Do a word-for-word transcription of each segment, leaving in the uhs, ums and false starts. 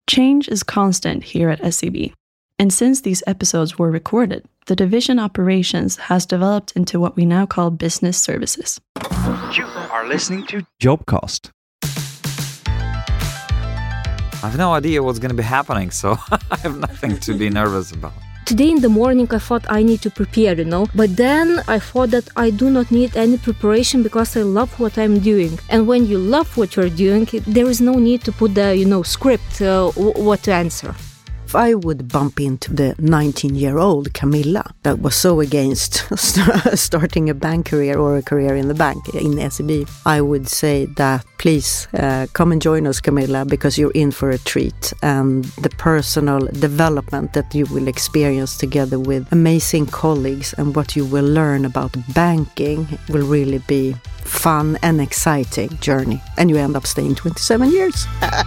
Change is constant here at S E B. And since these episodes were recorded, the division operations has developed into what we now call business services. You are listening to Jobcast. I have no idea what's going to be happening, so I have nothing to be nervous about. Today in the morning I thought I need to prepare, you know, but then I thought that I do not need any preparation because I love what I'm doing. And when you love what you're doing, there is no need to put the, you know, script, uh, w- what to answer. If I would bump into the nineteen-year-old Camilla that was so against starting a bank career or a career in the bank in S E B, I would say that please uh, come and join us, Camilla, because you're in for a treat. And the personal development that you will experience together with amazing colleagues and what you will learn about banking will really be fun and exciting journey. And you end up staying twenty-seven years.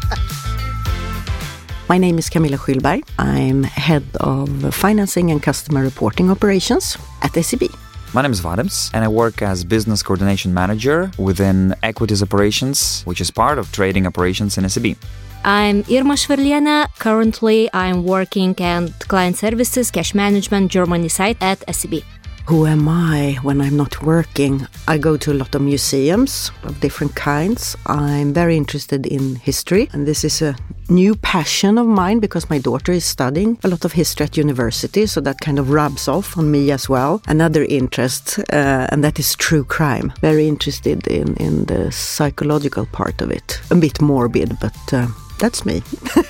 My name is Camilla Schylberg. I'm head of financing and customer reporting operations at S E B. My name is Vadims, and I work as business coordination manager within equities operations, which is part of trading operations in S E B. I'm Irma Shverlena. Currently, I'm working at client services, cash management, Germany side at S E B. Who am I when I'm not working? I go to a lot of museums of different kinds. I'm very interested in history, and this is a new passion of mine because my daughter is studying a lot of history at university, so that kind of rubs off on me as well. Another interest, uh, and that is true crime. Very interested in, in the psychological part of it. A bit morbid, but uh, that's me.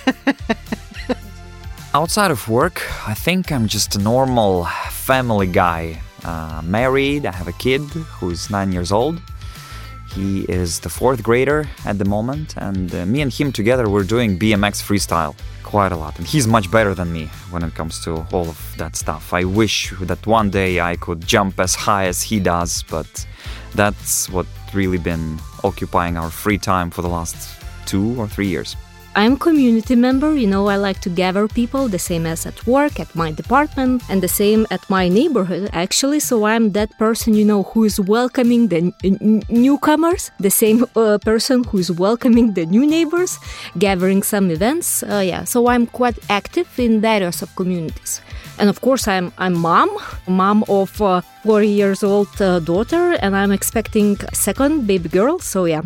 Outside of work, I think I'm just a normal family guy. Uh, married, I have a kid who's nine years old. He is the fourth grader at the moment, and uh, me and him together we're doing B M X freestyle quite a lot. And he's much better than me when it comes to all of that stuff. I wish that one day I could jump as high as he does, but that's what really been occupying our free time for the last two or three years. I'm a community member, you know, I like to gather people, the same as at work, at my department, and the same at my neighborhood, actually. So I'm that person, you know, who is welcoming the n- newcomers, the same uh, person who is welcoming the new neighbors, gathering some events. Uh, yeah, so I'm quite active in various of communities. And of course, I'm I'm mom, mom of a four years old uh, daughter, and I'm expecting a second baby girl, so yeah.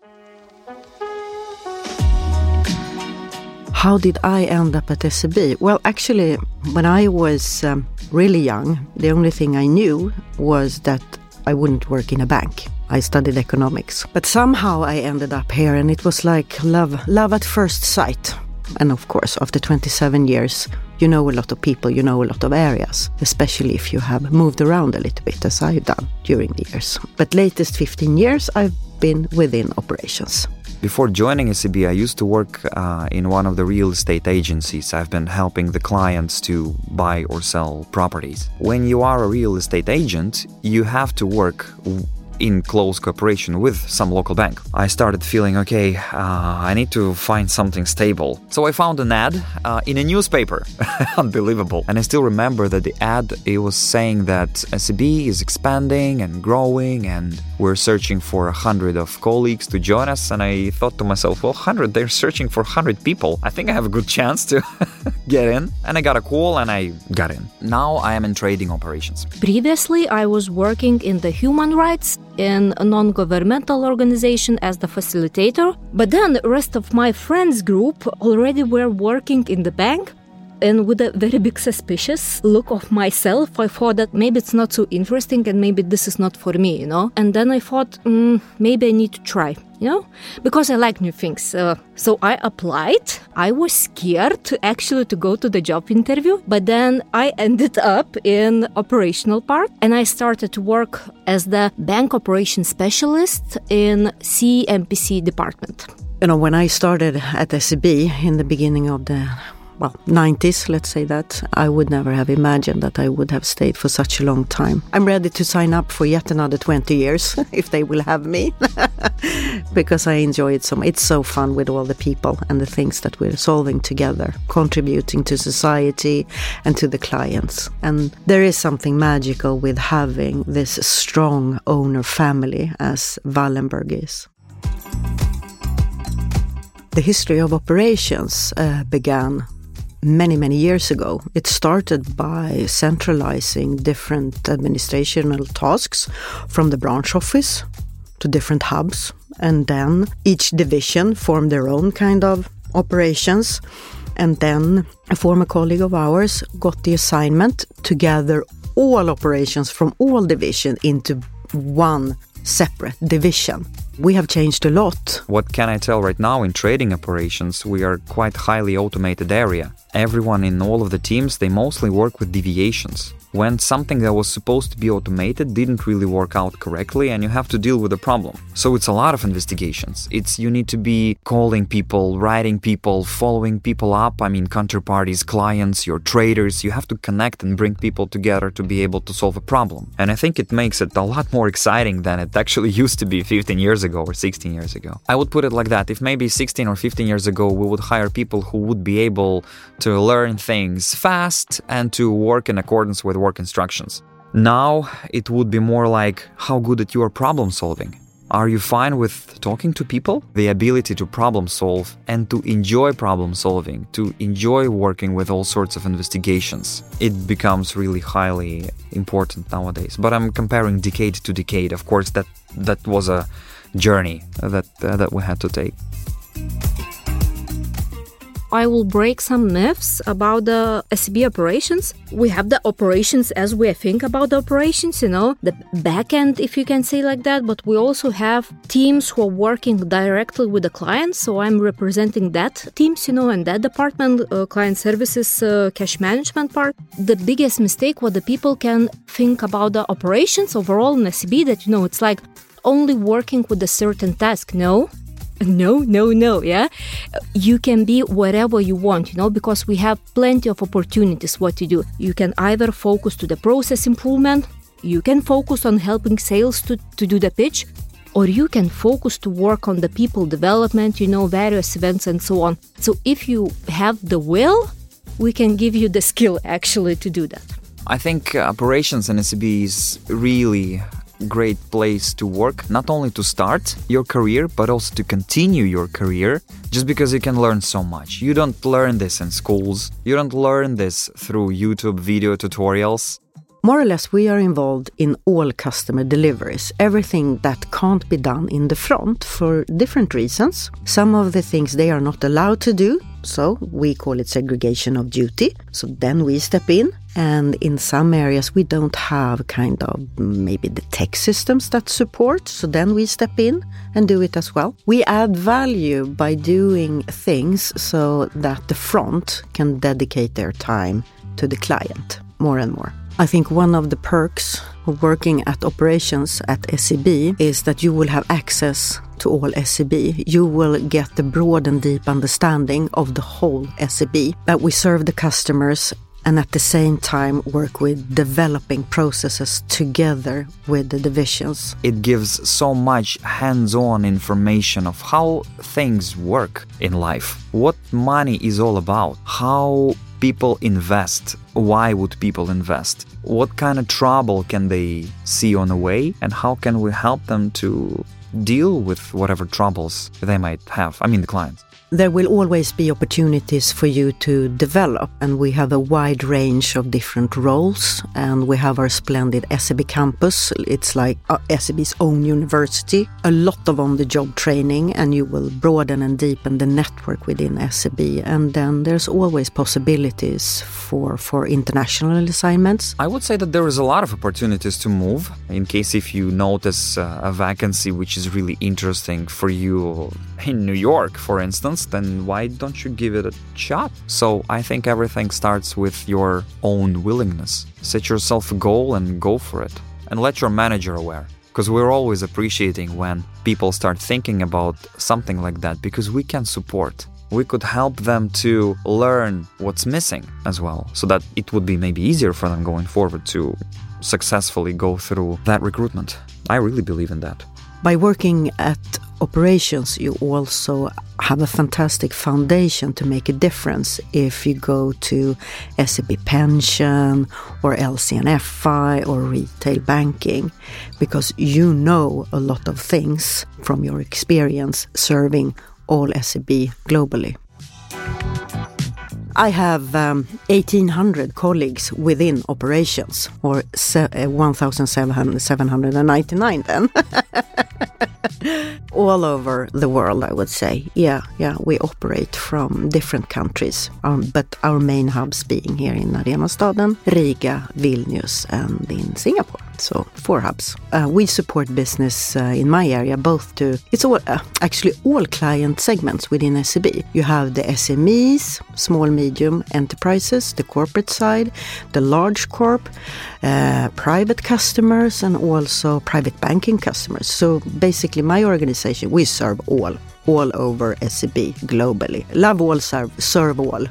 How did I end up at S E B? Well, actually, when I was um, really young, the only thing I knew was that I wouldn't work in a bank. I studied economics. But somehow I ended up here, and it was like love, love at first sight. And of course, after twenty-seven years, you know a lot of people, you know a lot of areas, especially if you have moved around a little bit, as I've done during the years. But latest fifteen years, I've been within operations. Before joining S E B, I used to work uh, in one of the real estate agencies. I've been helping the clients to buy or sell properties. When you are a real estate agent, you have to work w- in close cooperation with some local bank. I started feeling, okay, uh, I need to find something stable. So I found an ad uh, in a newspaper. Unbelievable. And I still remember that the ad, it was saying that S E B is expanding and growing and we're searching for a hundred of colleagues to join us. And I thought to myself, well, hundred, they're searching for hundred people. I think I have a good chance to get in. And I got a call and I got in. Now I am in trading operations. Previously, I was working in the human rights in a non-governmental organization as the facilitator. But then the rest of my friends group already were working in the bank. And with a very big suspicious look of myself, I thought that maybe it's not so interesting and maybe this is not for me, you know. And then I thought, mm, maybe I need to try, you know, because I like new things. Uh, so I applied. I was scared to actually to go to the job interview, but then I ended up in operational part and I started to work as the bank operations specialist in C M P C department. You know, when I started at S E B in the beginning of the well, nineties, let's say that, I would never have imagined that I would have stayed for such a long time. I'm ready to sign up for yet another twenty years, if they will have me, because I enjoy it so much. It's so fun with all the people and the things that we're solving together, contributing to society and to the clients. And there is something magical with having this strong owner family as Wallenberg is. The history of operations uh, began many, many years ago. It started by centralizing different administrational tasks from the branch office to different hubs. And then each division formed their own kind of operations. And then a former colleague of ours got the assignment to gather all operations from all divisions into one separate division. We have changed a lot. What can I tell right now in trading operations? We are quite highly automated area. Everyone in all of the teams, they mostly work with deviations. When something that was supposed to be automated didn't really work out correctly, and you have to deal with the problem. So it's a lot of investigations. It's you need to be calling people, writing people, following people up. I mean, counterparties, clients, your traders. You have to connect and bring people together to be able to solve a problem. And I think it makes it a lot more exciting than it actually used to be fifteen years ago or sixteen years ago. I would put it like that. If maybe sixteen or fifteen years ago, we would hire people who would be able to learn things fast and to work in accordance with work instructions. Now it would be more like how good at your problem solving. Are you fine with talking to people? The ability to problem solve and to enjoy problem solving, to enjoy working with all sorts of investigations. It becomes really highly important nowadays. But I'm comparing decade to decade. Of course, that that was a journey that uh, that we had to take. I will break some myths about the S E B operations. We have the operations as we think about the operations, you know, the back end, if you can say like that, but we also have teams who are working directly with the clients. So I'm representing that teams, you know, and that department, uh, client services, uh, cash management part. The biggest mistake what the people can think about the operations overall in S E B that, you know, it's like only working with a certain task. No. No, no, no, yeah? You can be whatever you want, you know, because we have plenty of opportunities what to do. You can either focus to the process improvement, you can focus on helping sales to, to do the pitch, or you can focus to work on the people development, you know, various events and so on. So if you have the will, we can give you the skill actually to do that. I think operations in S E B is really great place to work, not only to start your career, but also to continue your career, just because you can learn so much. You don't learn this in schools. You don't learn this through YouTube video tutorials. More or less, we are involved in all customer deliveries, everything that can't be done in the front for different reasons. Some of the things they are not allowed to do, so we call it segregation of duty. So then we step in, and in some areas we don't have kind of maybe the tech systems that support, so then we step in and do it as well. We add value by doing things so that the front can dedicate their time to the client more and more. I think one of the perks of working at operations at S E B is that you will have access to all S E B. You will get the broad and deep understanding of the whole S E B, that we serve the customers and at the same time work with developing processes together with the divisions. It gives so much hands-on information of how things work in life, what money is all about, how people invest, why would people invest, what kind of trouble can they see on the way, and how can we help them to deal with whatever troubles they might have, I mean the clients. There will always be opportunities for you to develop, and we have a wide range of different roles, and we have our splendid S E B campus. It's like S E B's own university, a lot of on-the-job training, and you will broaden and deepen the network within S E B. And then there's always possibilities for, for international assignments. I would say that there is a lot of opportunities to move, in case if you notice uh, a vacancy which is really interesting for you in New York, for instance, then why don't you give it a shot? So I think everything starts with your own willingness. Set yourself a goal and go for it. And let your manager aware. Because we're always appreciating when people start thinking about something like that, because we can support. We could help them to learn what's missing as well, so that it would be maybe easier for them going forward to successfully go through that recruitment. I really believe in that. By working at operations, you also have a fantastic foundation to make a difference if you go to S E B Pension or L C N F I or retail banking, because you know a lot of things from your experience serving all S E B globally. I have um, eighteen hundred colleagues within operations, or se- uh, one thousand seven hundred ninety-nine then. All over the world, I would say. Yeah, yeah, we operate from different countries, um, but our main hubs being here in Arenastaden, Riga, Vilnius, and in Singapore. So four hubs. Uh, we support business uh, in my area, both to, it's all, uh, actually all client segments within S E B. You have the S M Es, small, medium enterprises, the corporate side, the large corp, uh, private customers, and also private banking customers. So basically my organization, we serve all, all over S E B globally. Love all, serve, serve all.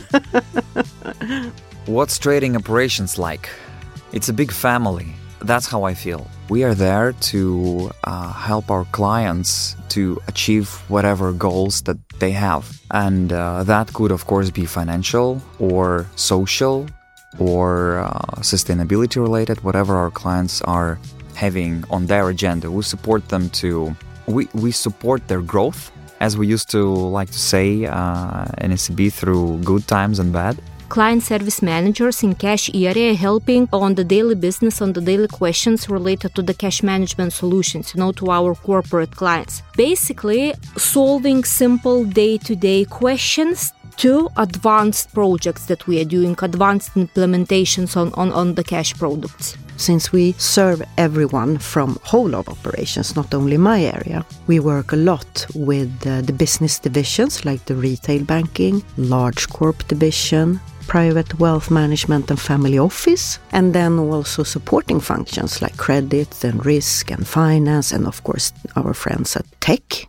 What's trading operations like? It's a big family. That's how I feel. We are there to uh, help our clients to achieve whatever goals that they have. And uh, that could, of course, be financial or social or uh, sustainability related, whatever our clients are having on their agenda. We support them to, we, we support their growth, as we used to like to say uh, in S E B, through good times and bad. Client service managers in cash area helping on the daily business, on the daily questions related to the cash management solutions, you know, to our corporate clients. Basically, solving simple day-to-day questions to advanced projects that we are doing, advanced implementations on, on, on the cash products. Since we serve everyone from whole of operations, not only my area, we work a lot with uh, the business divisions like the retail banking, large corp division, private wealth management and family office, and then also supporting functions like credit and risk and finance, and of course our friends at tech.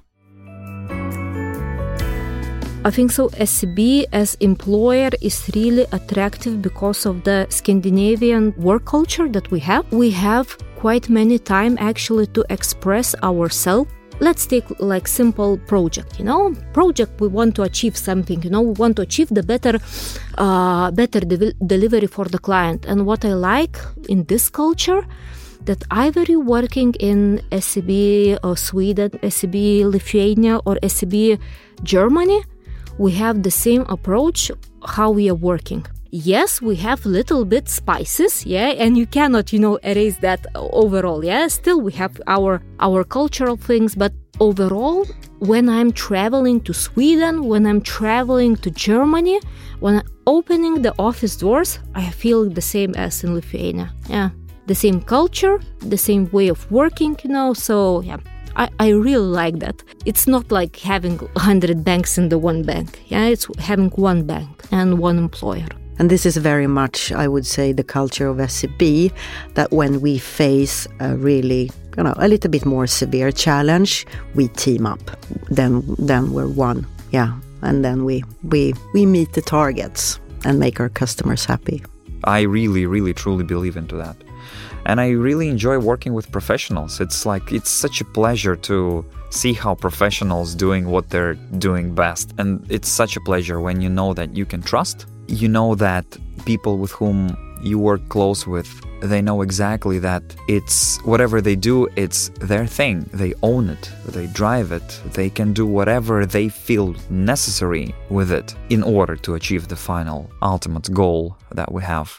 I think so S E B as employer is really attractive because of the Scandinavian work culture that we have. We have quite many time actually to express ourselves. Let's take like simple project, you know, project we want to achieve something, you know, we want to achieve the better, uh, better de- delivery for the client. And what I like in this culture, that either you're working in S E B or Sweden, S E B Lithuania, or S E B Germany, we have the same approach how we are working. Yes, we have little bit spices, yeah, and you cannot, you know, erase that overall, yeah. Still, we have our our cultural things, but overall, when I'm traveling to Sweden, when I'm traveling to Germany, when I'm opening the office doors, I feel the same as in Lithuania, yeah. The same culture, the same way of working, you know, so, yeah. I, I really like that. It's not like having one hundred banks in the one bank. Yeah, it's having one bank and one employer. And this is very much, I would say, the culture of S E B, that when we face a really, you know, a little bit more severe challenge, we team up. Then then we're one. Yeah. And then we we we meet the targets and make our customers happy. I really, really, truly believe into that. And I really enjoy working with professionals. It's like, it's such a pleasure to see how professionals doing what they're doing best. And it's such a pleasure when you know that you can trust. You know that people with whom you work close with, they know exactly that it's whatever they do, it's their thing. They own it, they drive it, they can do whatever they feel necessary with it in order to achieve the final, ultimate goal that we have.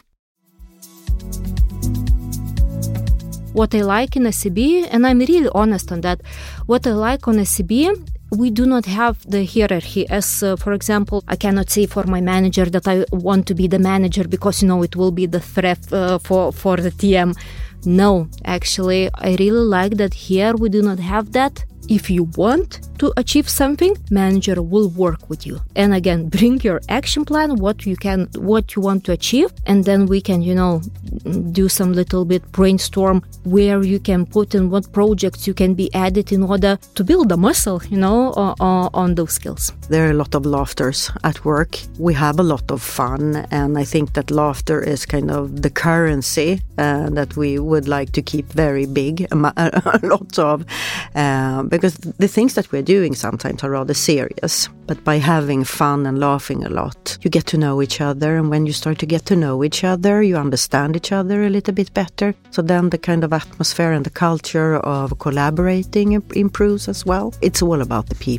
What I like in S E B, and I'm really honest on that, what I like on S E B, we do not have the hierarchy. As, uh, for example, I cannot say for my manager that I want to be the manager because, you know, it will be the threat uh, for, for the T M. No, actually, I really like that here we do not have that. If you want to achieve something, manager will work with you. And again, bring your action plan, what you can, what you want to achieve, and then we can, you know, do some little bit brainstorm where you can put in what projects you can be added in order to build a muscle, you know, uh, uh, on those skills. There are a lot of laughters at work. We have a lot of fun, and I think that laughter is kind of the currency uh, that we would like to keep very big, a, a lot of. Uh, Because the things that we're doing sometimes are rather serious. But by having fun and laughing a lot, you get to know each other. And when you start to get to know each other, you understand each other a little bit better. So then the kind of atmosphere and the culture of collaborating improves as well. It's all about the people.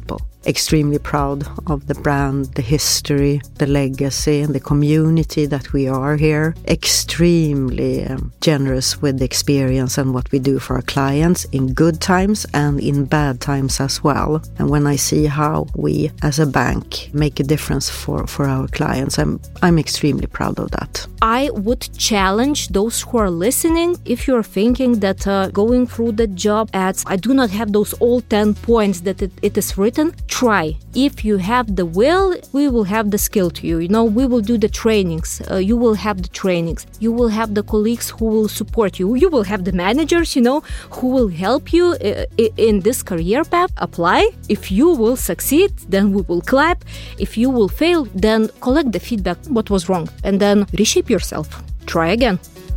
extremely proud of the brand, the history, the legacy, and the community that we are here. Extremely um, generous with the experience and what we do for our clients in good times and in bad times as well. And when I see how we as a bank make a difference for, for our clients, I'm, I'm extremely proud of that. I would challenge those who are listening, if you're thinking that uh, going through the job ads, I do not have those all ten points that it, it is written, try. If you have the will, we will have the skill to you. You know, we will do the trainings. Uh, you will have the trainings. You will have the colleagues who will support you. You will have the managers, you know, who will help you uh, in this career path. Apply. If you will succeed, then we will clap. If you will fail, then collect the feedback, what was wrong, and then reshape yourself. Try again.